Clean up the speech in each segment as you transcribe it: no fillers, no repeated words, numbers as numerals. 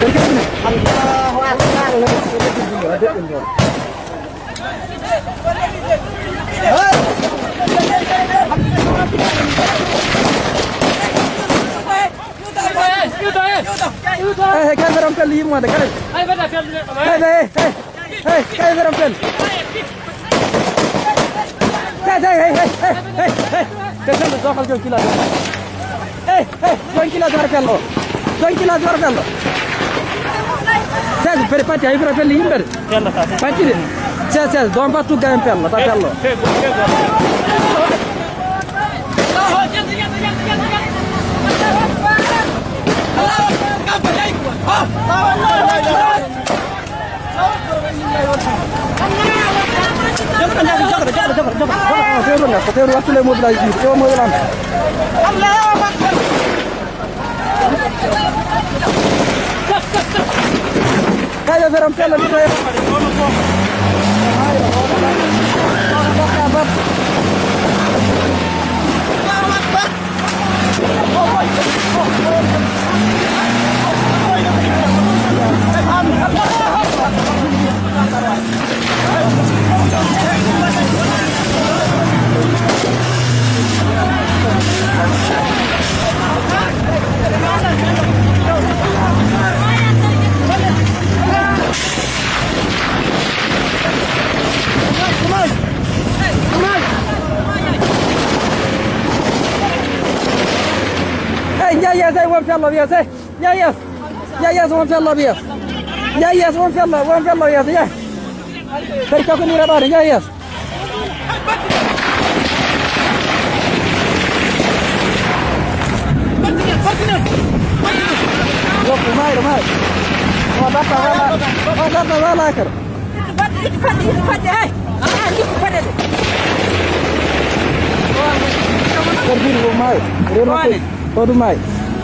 Kay veram pel yimo de kay. Ay vada pel. Kay veram pel. Kay doxal jom kila. Jom kila war pello. Jom kila war pello. Sai per pati ay vera pel yimbe. Pati de. Sai don patu gam pello, ta pello. Kaya veram pela di saya. Yes, I won't fellow, yes, yes, one fellow, yes. Yes, one fellow, yes, yeah. Very talking about it, yes. Look, my. Oh, that's a like her. Todo mais.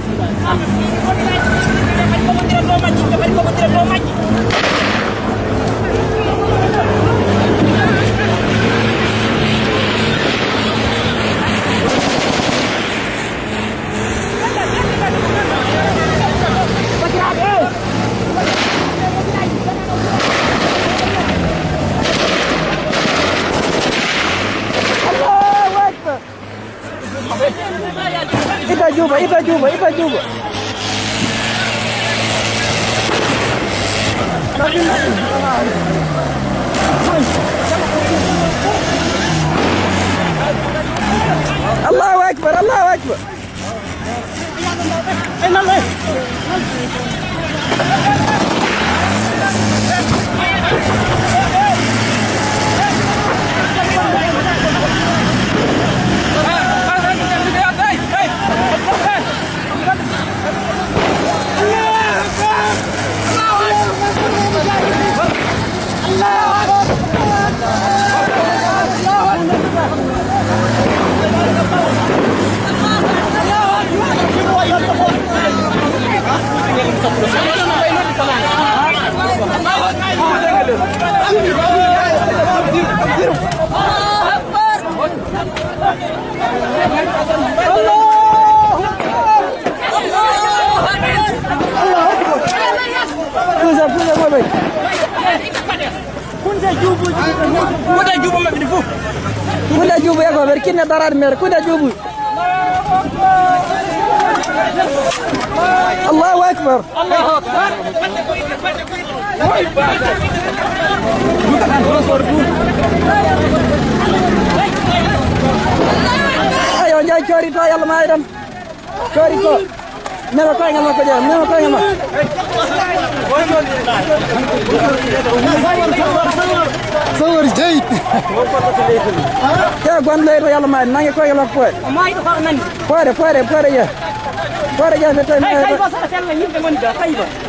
Iba juba. Allahu Akbar. Kuda jubu ya gober kinna darar mer kuda jubu. Allahu Akbar. Ayo njay cori to yalla mayram. Cori ko. Nema ko ngam ko jam, nema ko ngam. Sawar jayit. Ya gonde to yalla may nangi ko yalla ko. May to ko nan. Pore ya. Pore ya fetan. Ay ba sa tan yimbe ngon da kayba.